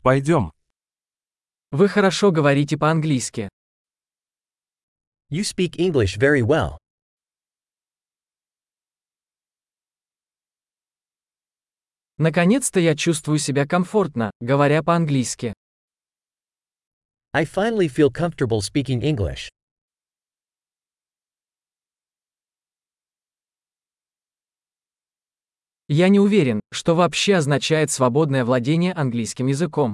Пойдем. Вы хорошо говорите по-английски. You speak English very well. Наконец-то я чувствую себя комфортно, говоря по-английски. I finally feel comfortable speaking English. Я не уверен, что вообще означает свободное владение английским языком.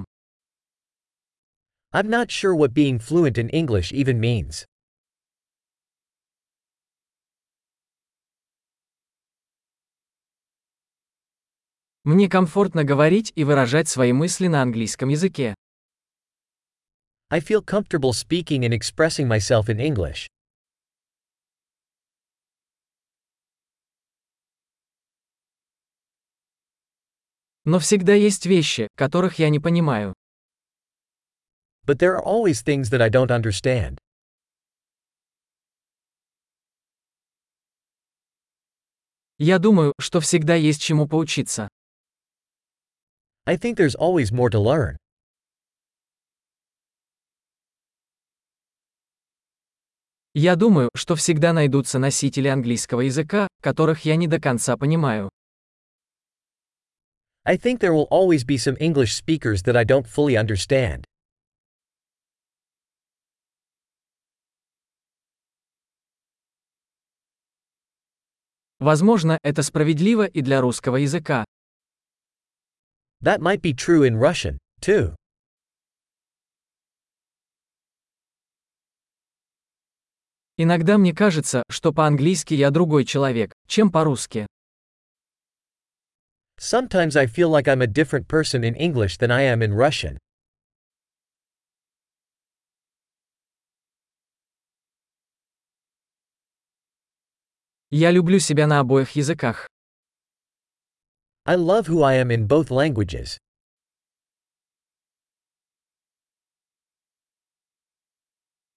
I'm not sure what being fluent in English even means. Мне комфортно говорить и выражать свои мысли на английском языке. I feel comfortable speaking and expressing myself in English. Но всегда есть вещи, которых я не понимаю. But there are always things that I don't understand. Я думаю, что всегда есть чему поучиться. I think there's always more to learn. Я думаю, что всегда найдутся носители английского языка, которых я не до конца понимаю. I think there will always be some English speakers that I don't fully understand. Возможно, это справедливо и для русского языка. That might be true in Russian, too. Иногда мне кажется, что по-английски я другой человек, чем по-русски. Sometimes I feel like I'm a different person in English than I am in Russian. Я люблю себя на обоих языках. I love who I am in both languages.